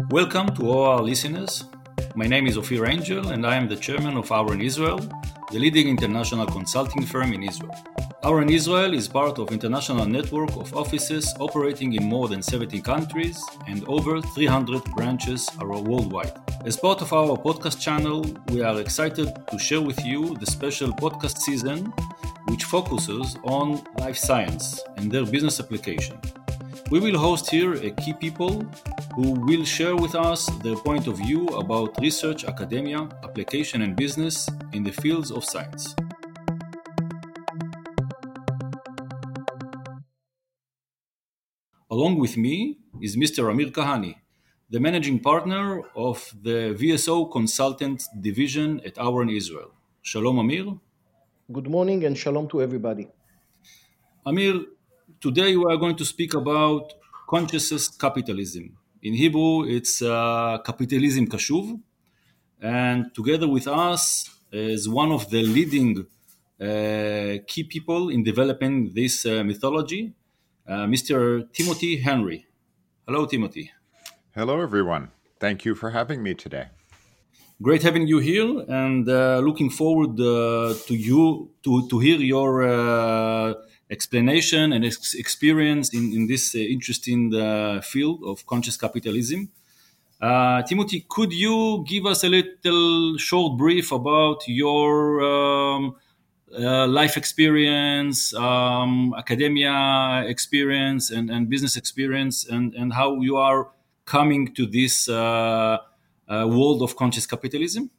Welcome to all our listeners. My name is Ophir Angel and I am the chairman of Auren Israel, the leading international consulting firm in Israel. Auren Israel is part of international network of offices operating in more than 70 countries and over 300 branches worldwide. As part of our podcast channel, we are excited to share with you the special podcast season which focuses on life science and their business application. We will host here key people who will share with us their point of view about research, academia, application and business in the fields of science. Along with me is Mr. Amir Kahani, the managing partner of the VSO Consultant Division at Auren Israel. Shalom, Amir. Good morning and shalom to everybody. Amir, today we are going to speak about conscious capitalism. In Hebrew, it's capitalism kashuv. And together with us is one of the leading key people in developing this mythology, Mr. Timothy Henry. Hello, Timothy. Hello, everyone. Thank you for having me today. Great having you here, and looking forward to hear your explanation and experience in this interesting field of conscious capitalism. Timothy, could you give us a little short brief about your life experience, academia experience, and business experience, and how you are coming to this world of conscious capitalism?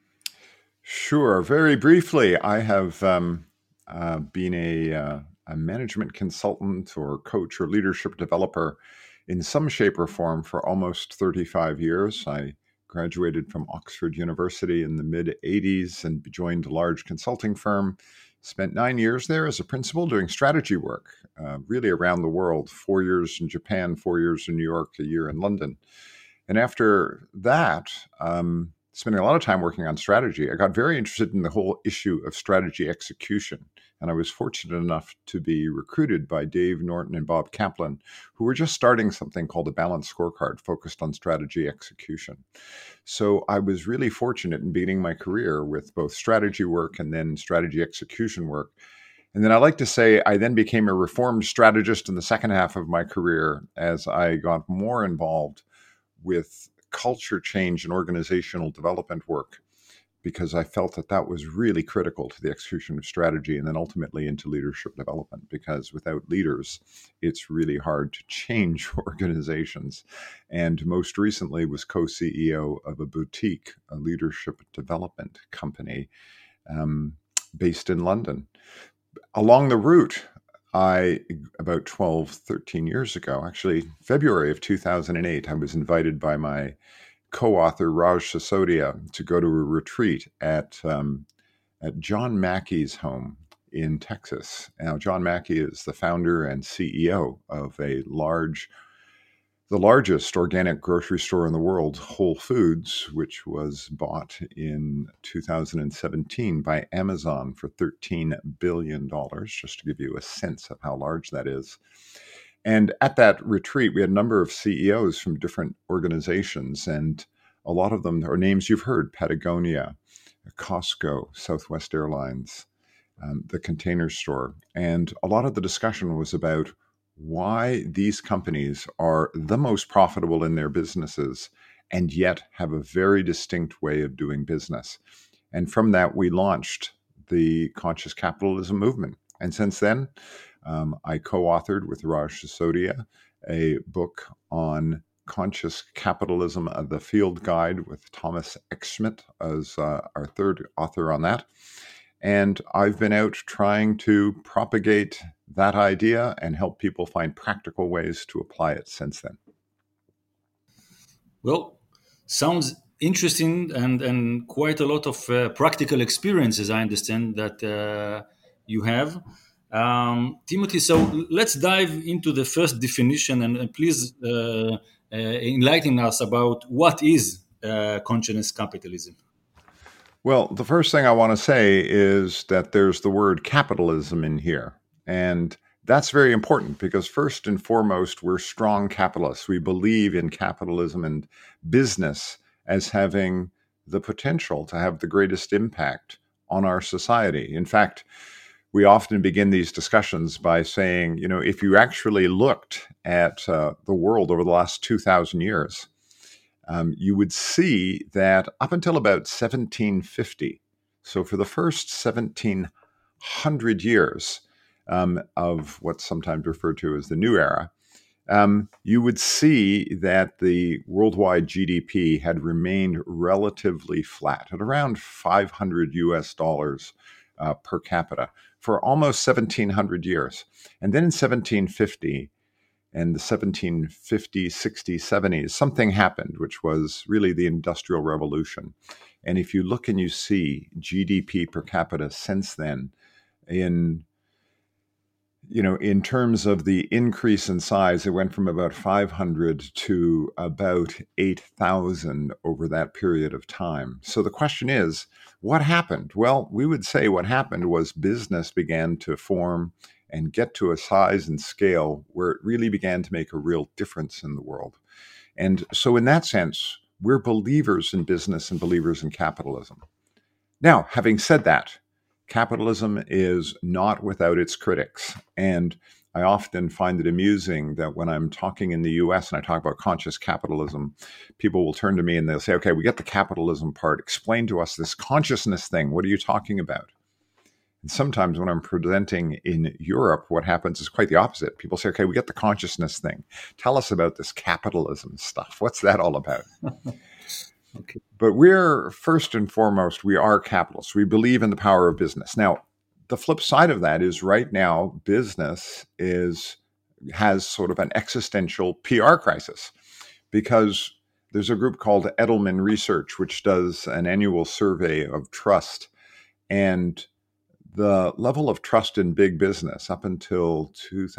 Sure. Very briefly, I have been a management consultant or coach or leadership developer in some shape or form for almost 35 years. I graduated from Oxford University in the mid-'80s and joined a large consulting firm. Spent 9 years there as a principal doing strategy work, really around the world, 4 years in Japan, 4 years in New York, a year in London. And after that, spending a lot of time working on strategy, I got very interested in the whole issue of strategy execution. And I was fortunate enough to be recruited by Dave Norton and Bob Kaplan, who were just starting something called a Balanced Scorecard focused on strategy execution. So I was really fortunate in beginning my career with both strategy work and then strategy execution work. And then I like to say I then became a reformed strategist in the second half of my career as I got more involved with culture change and organizational development work, because I felt that that was really critical to the execution of strategy and then ultimately into leadership development, because without leaders, it's really hard to change organizations. And most recently was co-CEO of a boutique, a leadership development company based in London. Along the route, about 12, 13 years ago, actually, February of 2008, I was invited by my co-author, Raj Sisodia, to go to a retreat at John Mackey's home in Texas. Now, John Mackey is the founder and CEO of the largest organic grocery store in the world, Whole Foods, which was bought in 2017 by Amazon for $13 billion, just to give you a sense of how large that is. And at that retreat, we had a number of CEOs from different organizations, and a lot of them are names you've heard: Patagonia, Costco, Southwest Airlines, the Container Store. And a lot of the discussion was about why these companies are the most profitable in their businesses and yet have a very distinct way of doing business. And from that, we launched the conscious capitalism movement. And since then, I co-authored with Raj Sisodia a book on conscious capitalism, the Field Guide, with Thomas Eckschmidt as our third author on that. And I've been out trying to propagate that idea and help people find practical ways to apply it since then. Well, sounds interesting and quite a lot of practical experiences, I understand, that you have. Timothy, so let's dive into the first definition and please enlighten us about what is conscious capitalism. Well, the first thing I want to say is that there's the word capitalism in here. And that's very important because first and foremost, we're strong capitalists. We believe in capitalism and business as having the potential to have the greatest impact on our society. In fact, we often begin these discussions by saying, if you actually looked at the world over the last 2,000 years, you would see that up until about 1750, so for the first 1700 years of what's sometimes referred to as the New Era, you would see that the worldwide GDP had remained relatively flat at around 500 US dollars per capita for almost 1700 years. And then in 1750 and the 1750s, 60s, 70s, something happened, which was really the Industrial Revolution. And if you look and you see GDP per capita since then, in terms of the increase in size, it went from about 500 to about 8,000 over that period of time. So the question is, what happened? Well, we would say what happened was business began to form and get to a size and scale where it really began to make a real difference in the world. And so in that sense, we're believers in business and believers in capitalism. Now, having said that, capitalism is not without its critics. And I often find it amusing that when I'm talking in the US and I talk about conscious capitalism, people will turn to me and they'll say, okay, we get the capitalism part. Explain to us this consciousness thing. What are you talking about? And sometimes when I'm presenting in Europe, what happens is quite the opposite. People say, okay, we get the consciousness thing. Tell us about this capitalism stuff. What's that all about? Okay. But we're first and foremost, we are capitalists. We believe in the power of business. Now, the flip side of that is right now, business has sort of an existential PR crisis because there's a group called Edelman Research, which does an annual survey of trust. And the level of trust in big business up until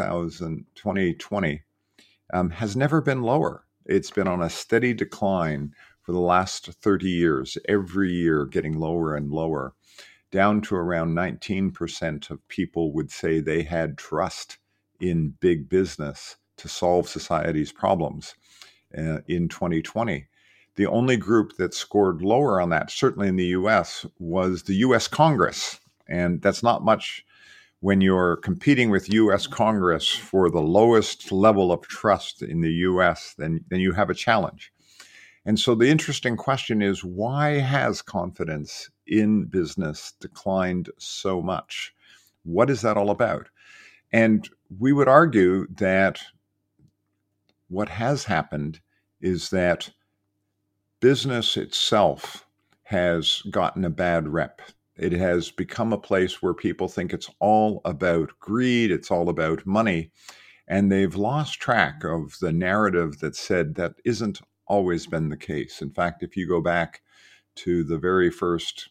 2020 has never been lower. It's been on a steady decline for the last 30 years, every year getting lower and lower, down to around 19% of people would say they had trust in big business to solve society's problems in 2020. The only group that scored lower on that, certainly in the US, was the US Congress. And that's not much when you're competing with US Congress for the lowest level of trust in the US, then you have a challenge. And so the interesting question is, why has confidence in business declined so much? What is that all about? And we would argue that what has happened is that business itself has gotten a bad rep. It has become a place where people think it's all about greed, it's all about money, and they've lost track of the narrative that said that isn't always been the case. In fact, if you go back to the very first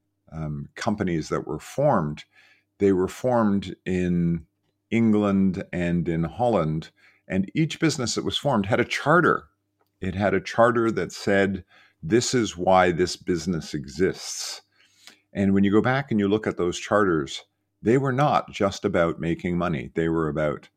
companies that were formed, they were formed in England and in Holland, and each business that was formed had a charter. It had a charter that said, this is why this business exists. And when you go back and you look at those charters, they were not just about making money. They were about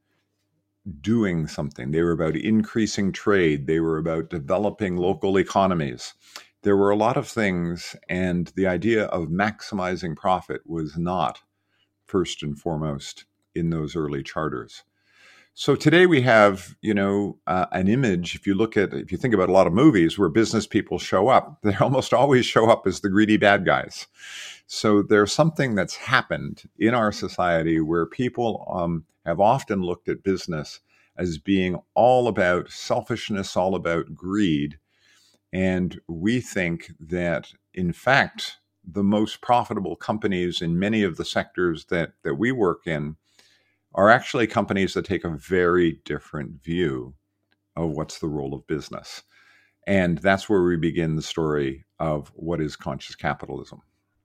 doing something. They were about increasing trade. They were about developing local economies. There were a lot of things, and the idea of maximizing profit was not first and foremost in those early charters. So today we have, an image. If you think about a lot of movies where business people show up, they almost always show up as the greedy bad guys. So there's something that's happened in our society where people have often looked at business as being all about selfishness, all about greed. And we think that, in fact, the most profitable companies in many of the sectors that we work in are actually companies that take a very different view of what's the role of business. And that's where we begin the story of what is conscious capitalism.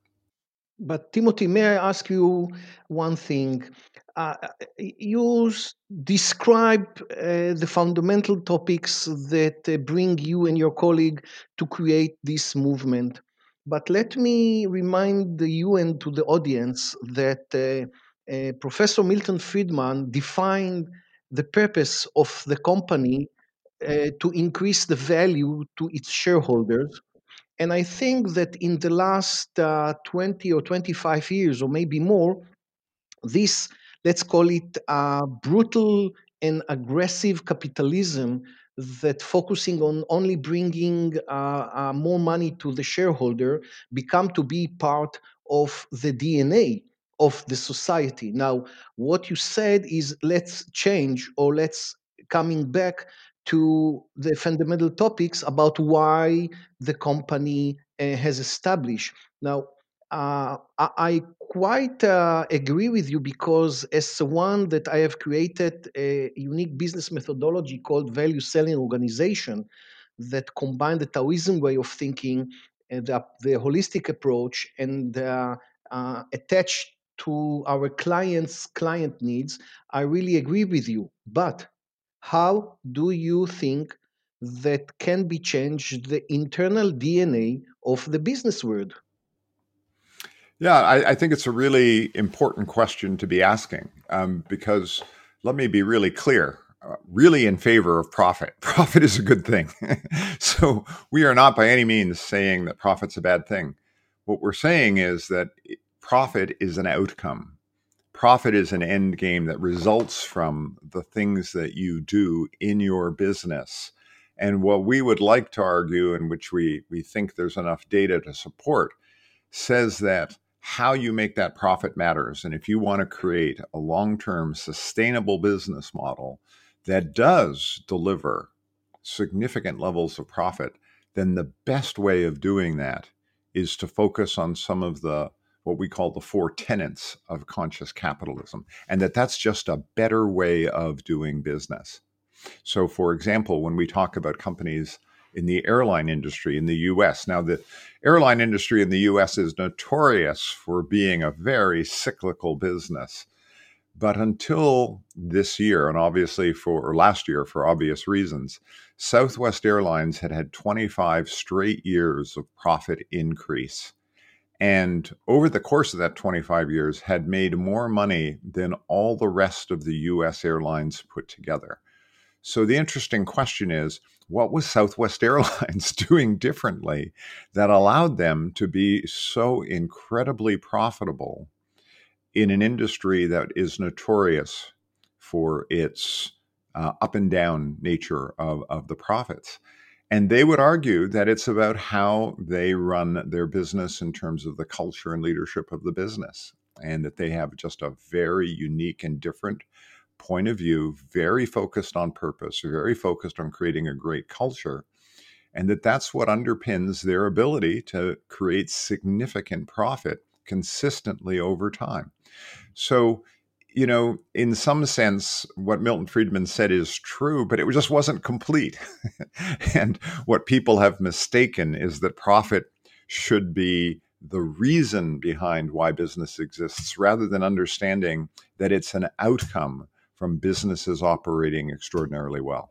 But Timothy, may I ask you one thing? You describe the fundamental topics that bring you and your colleague to create this movement. But let me remind you and to the audience that Professor Milton Friedman defined the purpose of the company to increase the value to its shareholders. And I think that in the last 20 or 25 years, or maybe more, this, let's call it brutal and aggressive capitalism that focusing on only bringing more money to the shareholder become to be part of the DNA of the society. Now, what you said is let's change, or let's coming back to the fundamental topics about why the company has established. Now, I quite agree with you, because as one that I have created a unique business methodology called value selling organization that combine the Taoism way of thinking and the holistic approach and attached to our clients' client needs. I really agree with you. But how do you think that can be changed the internal DNA of the business world? Yeah, I think it's a really important question to be asking, because let me be really clear. Really in favor of profit. Profit is a good thing. So we are not by any means saying that profit's a bad thing. What we're saying is that profit is an outcome. Profit is an end game that results from the things that you do in your business. And what we would like to argue, and which we think there's enough data to support, says that how you make that profit matters. And if you want to create a long-term sustainable business model that does deliver significant levels of profit, then the best way of doing that is to focus on some of the what we call the four tenets of conscious capitalism, and that's just a better way of doing business. So, for example, when we talk about companies in the airline industry in the US, now the airline industry in the US is notorious for being a very cyclical business. But until this year, and obviously or last year for obvious reasons, Southwest Airlines had 25 straight years of profit increase. And over the course of that 25 years, had made more money than all the rest of the US airlines put together. So the interesting question is, what was Southwest Airlines doing differently that allowed them to be so incredibly profitable in an industry that is notorious for its up and down nature of the profits? And they would argue that it's about how they run their business in terms of the culture and leadership of the business, and that they have just a very unique and different point of view, very focused on purpose, very focused on creating a great culture, and that's what underpins their ability to create significant profit consistently over time. So, in some sense, what Milton Friedman said is true, but it just wasn't complete. And what people have mistaken is that profit should be the reason behind why business exists, rather than understanding that it's an outcome from businesses operating extraordinarily well.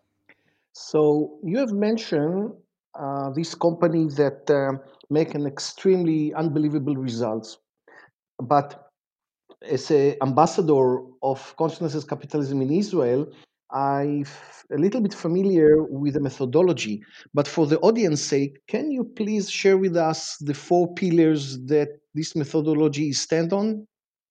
So you have mentioned these companies that make an extremely unbelievable results, but as an ambassador of consciousness capitalism in Israel, I'm a little bit familiar with the methodology. But for the audience sake, can you please share with us the four pillars that this methodology stand on?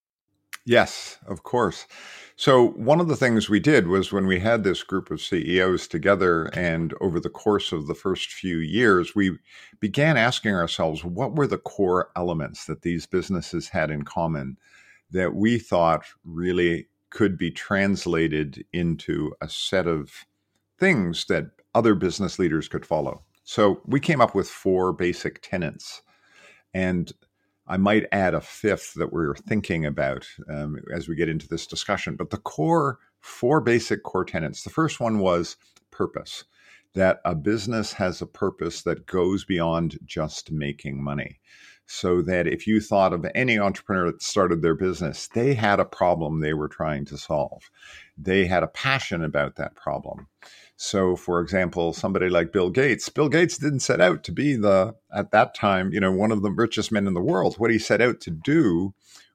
Yes, of course. So, one of the things we did was when we had this group of CEOs together, and over the course of the first few years, we began asking ourselves what were the core elements that these businesses had in common that we thought really could be translated into a set of things that other business leaders could follow. So, we came up with four basic tenets. And I might add a fifth that we're thinking about as we get into this discussion. But the four basic core tenets. The first one was purpose, that a business has a purpose that goes beyond just making money. So that if you thought of any entrepreneur that started their business, they had a problem they were trying to solve. They had a passion about that problem. So, for example, somebody like Bill Gates didn't set out to be at that time, one of the richest men in the world. What he set out to do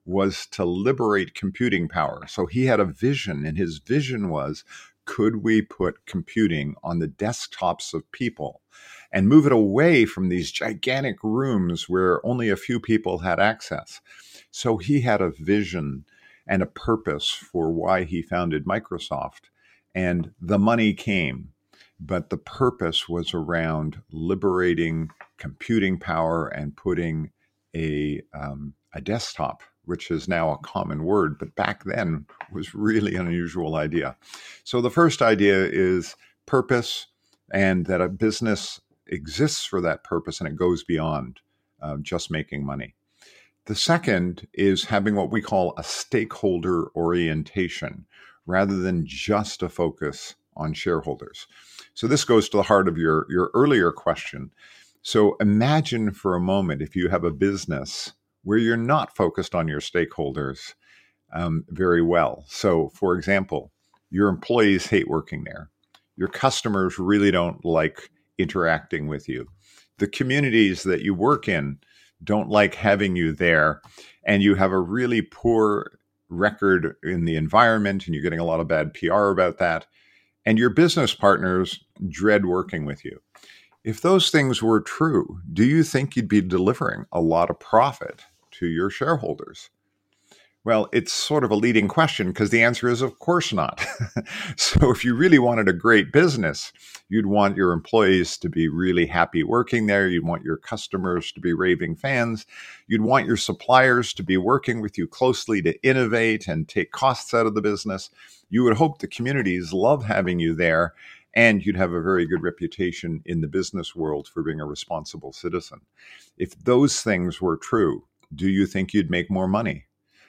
was to liberate computing power. So he had a vision, and his vision was, could we put computing on the desktops of people and move it away from these gigantic rooms where only a few people had access? So he had a vision and a purpose for why he founded Microsoft, and the money came. But the purpose was around liberating computing power and putting a desktop, which is now a common word, but back then was really an unusual idea. So the first idea is purpose, and that a business exists for that purpose and it goes beyond just making money. The second is having what we call a stakeholder orientation rather than just a focus on shareholders. So this goes to the heart of your earlier question. So imagine for a moment if you have a business where you're not focused on your stakeholders very well. So for example, your employees hate working there. Your customers really don't like interacting with you. The communities that you work in don't like having you there, and you have a really poor record in the environment, and you're getting a lot of bad PR about that, and your business partners dread working with you. If those things were true, do you think you'd be delivering a lot of profit to your shareholders? Well, it's sort of a leading question because the answer is, of course not. So if you really wanted a great business, you'd want your employees to be really happy working there. You'd want your customers to be raving fans. You'd want your suppliers to be working with you closely to innovate and take costs out of the business. You would hope the communities love having you there, and you'd have a very good reputation in the business world for being a responsible citizen. If those things were true, do you think you'd make more money?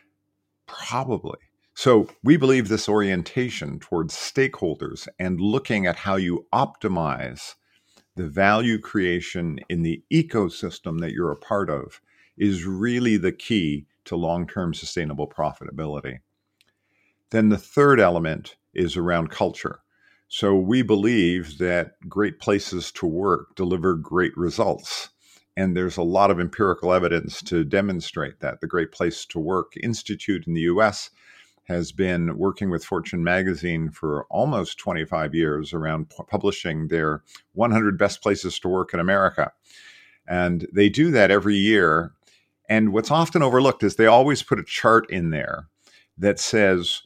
Probably. So we believe this orientation towards stakeholders and looking at how you optimize the value creation in the ecosystem that you're a part of is really the key to long-term sustainable profitability. Then the third element is around culture. So we believe that great places to work deliver great results. And there's a lot of empirical evidence to demonstrate that. The Great Place to Work Institute in the US has been working with Fortune magazine for almost 25 years around publishing their 100 best places to work in America. And they do that every year. And what's often overlooked is they always put a chart in there that says,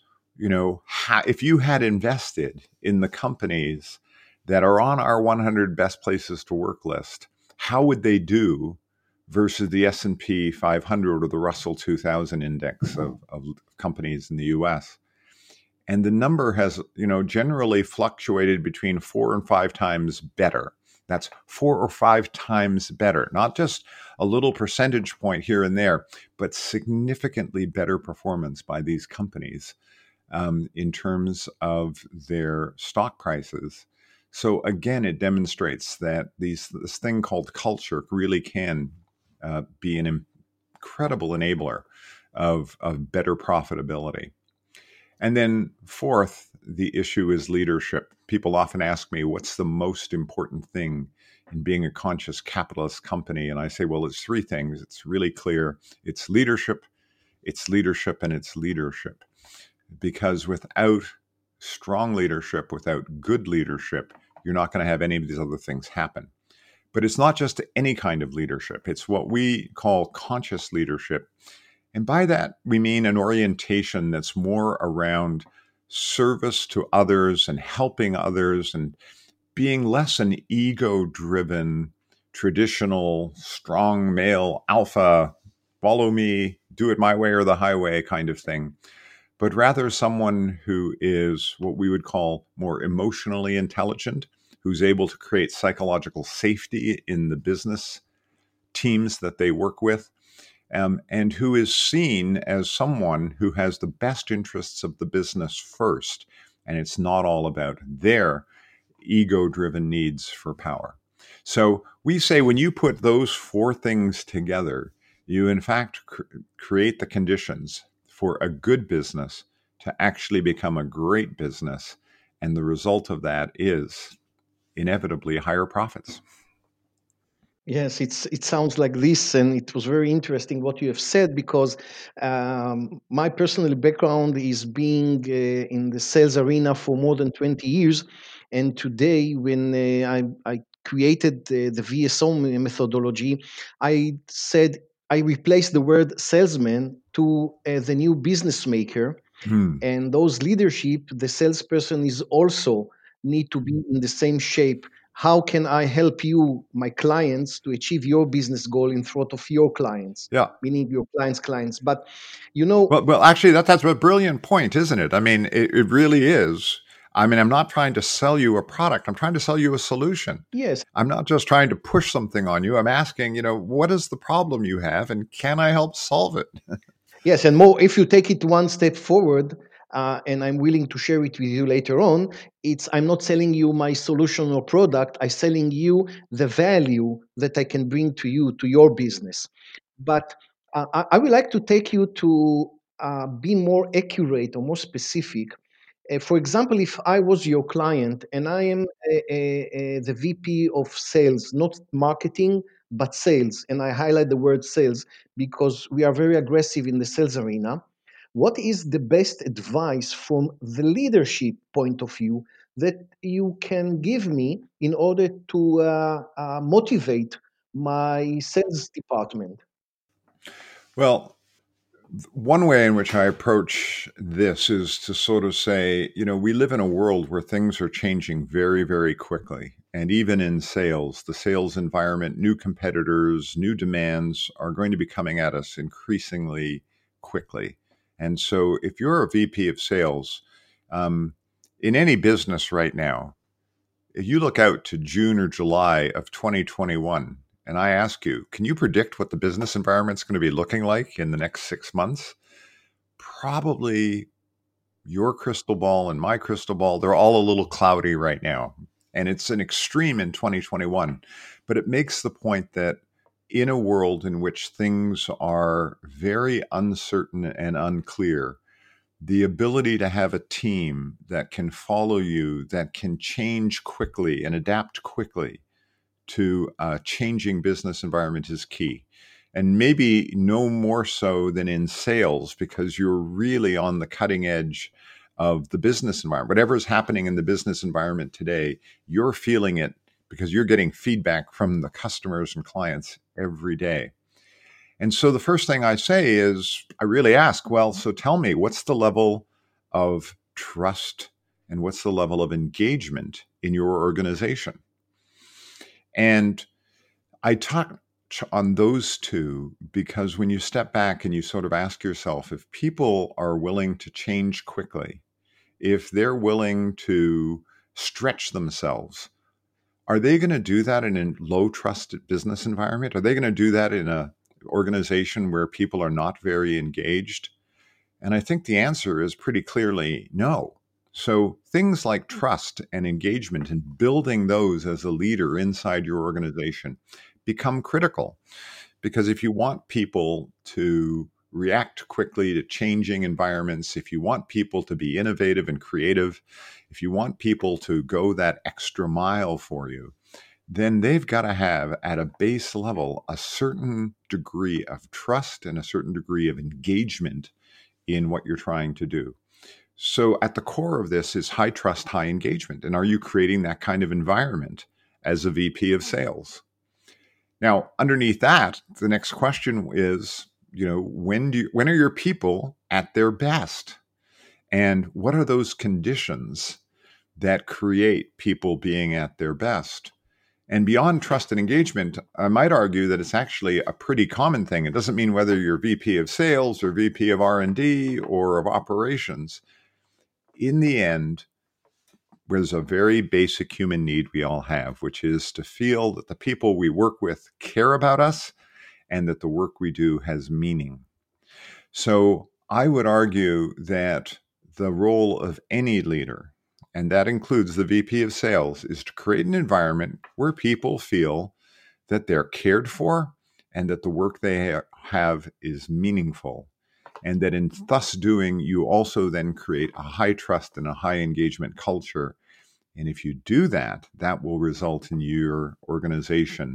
if you had invested in the companies that are on our 100 best places to work list, how would they do versus the S&P 500 or the Russell 2000 index of companies in the US? And the number has, generally fluctuated between 4 and 5 times better. That's 4 or 5 times better, not just a little percentage point here and there, but significantly better performance by these companies in terms of their stock prices. So again, it demonstrates that this thing called culture really can be an incredible enabler of better profitability. And then fourth, the issue is leadership. People often ask me, what's the most important thing in being a conscious capitalist company? And I say, well, it's 3 things. It's really clear. It's leadership, and it's leadership. Because without strong leadership, without good leadership, you're not going to have any of these other things happen. But it's not just any kind of leadership. It's what we call conscious leadership. And by that, we mean an orientation that's more around service to others and helping others and being less an ego-driven, traditional, strong male, alpha, follow me, do it my way or the highway kind of thing, but rather someone who is what we would call more emotionally intelligent, who's able to create psychological safety in the business teams that they work with, and who is seen as someone who has the best interests of the business first, and it's not all about their ego-driven needs for power. So we say when you put those 4 things together, you in fact create the conditions for a good business to actually become a great business. And the result of that is inevitably higher profits. Yes, it sounds like this, and it was very interesting what you have said because my personal background is being in the sales arena for more than 20 years. And today, when I created the VSO methodology, I said I replaced the word salesman to the new business maker, Hmm. and those leadership, the salesperson is also need to be in the same shape. How can I help you, my clients, to achieve your business goal in front of your clients, Yeah. meaning your clients? But you know, Well, actually, that's a brilliant point, isn't it? I mean, it really is. I mean, I'm not trying to sell you a product. I'm trying to sell you a solution. yes, I'm not just trying to push something on you. I'm asking, what is the problem you have, and can I help solve it? yes, and more. If you take it one step forward, and I'm willing to share it with you later on, it's I'm not selling you my solution or product. I'm selling you the value that I can bring to you to your business. But I would like to take you to be more accurate or more specific. For example, if I was your client and I am the VP of sales, not marketing, but sales, and I highlight the word sales because we are very aggressive in the sales arena, what is the best advice from the leadership point of view that you can give me in order to motivate my sales department? Well, one way in which I approach this is to sort of say, we live in a world where things are changing very, very quickly. And even in sales, the sales environment, new competitors, new demands are going to be coming at us increasingly quickly. And so if you're a VP of sales, um, in any business right now, if you look out to June or July of 2021, and I ask you, can you predict what the business environment's going to be looking like in the next 6 months? Probably your crystal ball and my crystal ball, they're all a little cloudy right now. And it's an extreme in 2021. But it makes the point that in a world in which things are very uncertain and unclear, the ability to have a team that can follow you, that can change quickly and adapt quickly to a changing business environment is key. And maybe no more so than in sales, because you're really on the cutting edge of the business environment. Whatever is happening in the business environment today, you're feeling it because you're getting feedback from the customers and clients every day. And so the first thing I say is, I really ask, well, so tell me, what's the level of trust and what's the level of engagement in your organization? And I touch on those two because when you step back and you sort of ask yourself, if people are willing to change quickly, if they're willing to stretch themselves, are they going to do that in a low trust business environment? Are they going to do that in a organization where people are not very engaged? And I think the answer is pretty clearly no. So things like trust and engagement and building those as a leader inside your organization become critical, because if you want people to react quickly to changing environments, if you want people to be innovative and creative, if you want people to go that extra mile for you, then they've got to have at a base level a certain degree of trust and a certain degree of engagement in what you're trying to do. So at the core of this is high trust, high engagement. And are you creating that kind of environment as a VP of sales? Now, underneath that, the next question is, when are your people at their best? And what are those conditions that create people being at their best? And beyond trust and engagement, I might argue that it's actually a pretty common thing. It doesn't mean whether you're VP of sales or VP of R&D or of operations. In the end, there's a very basic human need we all have, which is to feel that the people we work with care about us and that the work we do has meaning. So I would argue that the role of any leader, and that includes the VP of sales, is to create an environment where people feel that they're cared for and that the work they have is meaningful. And that in thus doing, you also then create a high trust and a high engagement culture. And if you do that, that will result in your organization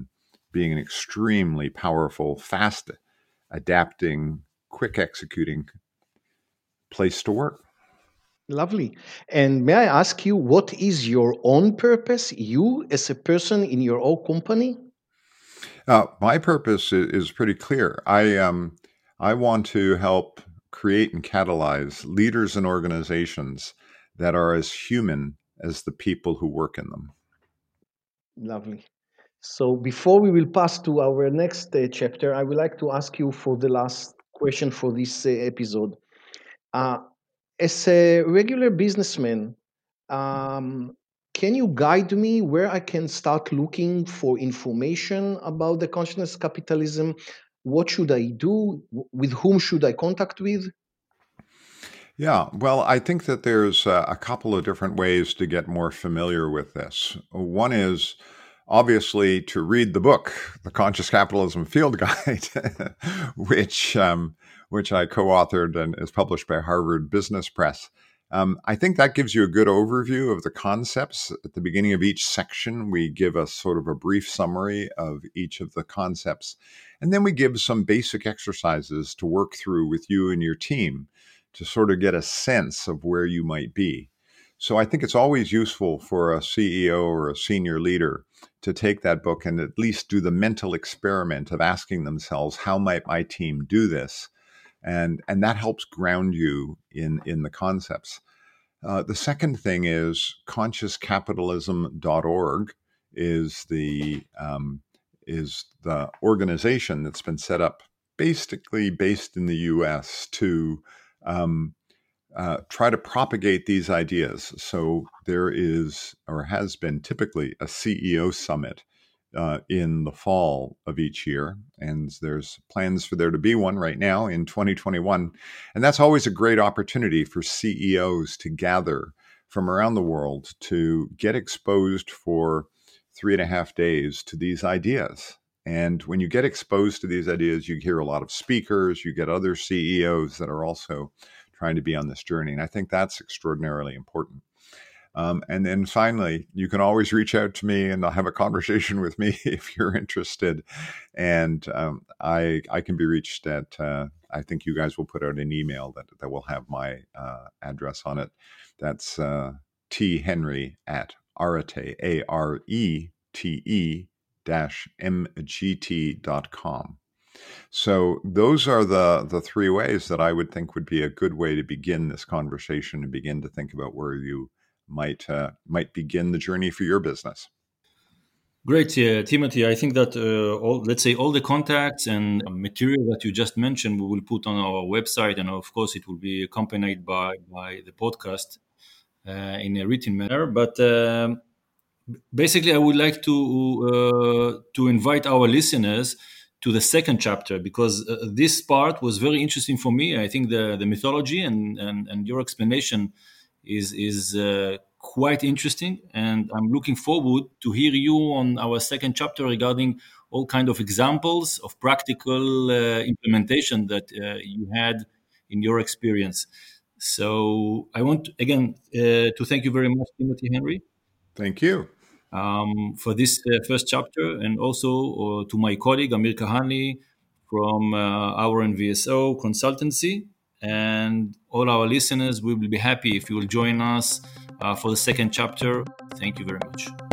being an extremely powerful, fast adapting, quick executing place to work. Lovely. And may I ask you, what is your own purpose, you as a person in your own company? My purpose is pretty clear. I want to help create and catalyze leaders and organizations that are as human as the people who work in them. Lovely. So before we will pass to our next chapter, I would like to ask you for the last question for this episode. Uh, as a regular businessman, can you guide me where I can start looking for information about the consciousness capitalism? What should I do? With whom should I contact with? Yeah, well, I think that there's a couple of different ways to get more familiar with this. One is obviously to read the book, The Conscious Capitalism Field Guide, which I co-authored and is published by Harvard Business Press. I think that gives you a good overview of the concepts. At the beginning of each section, we give a sort of a brief summary of each of the concepts, and then we give some basic exercises to work through with you and your team to sort of get a sense of where you might be. So I think it's always useful for a CEO or a senior leader to take that book and at least do the mental experiment of asking themselves, how might my team do this? And that helps ground you in the concepts. The second thing is consciouscapitalism.org is the organization that's been set up basically based in the US to try to propagate these ideas. So there is, or has been typically, a CEO summit in the fall of each year. And there's plans for there to be one right now in 2021. And that's always a great opportunity for CEOs to gather from around the world to get exposed for 3.5 days to these ideas. And when you get exposed to these ideas, you hear a lot of speakers, you get other CEOs that are also trying to be on this journey. And I think that's extraordinarily important. And then finally, you can always reach out to me and I'll have a conversation with me if you're interested. And I can be reached at, I think you guys will put out an email that will have my address on it. That's thenry@arete, ARETE-MGT.com. So those are the three ways that I would think would be a good way to begin this conversation and begin to think about where you might begin the journey for your business. Great, Timothy. I think that all the contacts and material that you just mentioned, we will put on our website, and of course, it will be accompanied by the podcast in a written manner. But basically, I would like to invite our listeners to the second chapter, because this part was very interesting for me. I think the mythology and your explanation is quite interesting, and I'm looking forward to hear you on our second chapter regarding all kind of examples of practical implementation that you had in your experience. So I want again to thank you very much, Timothy Henry. Thank you. For this first chapter, and also to my colleague Amir Kahani from our NVSO consultancy, and all our listeners. We will be happy if you will join us for the second chapter. Thank you very much.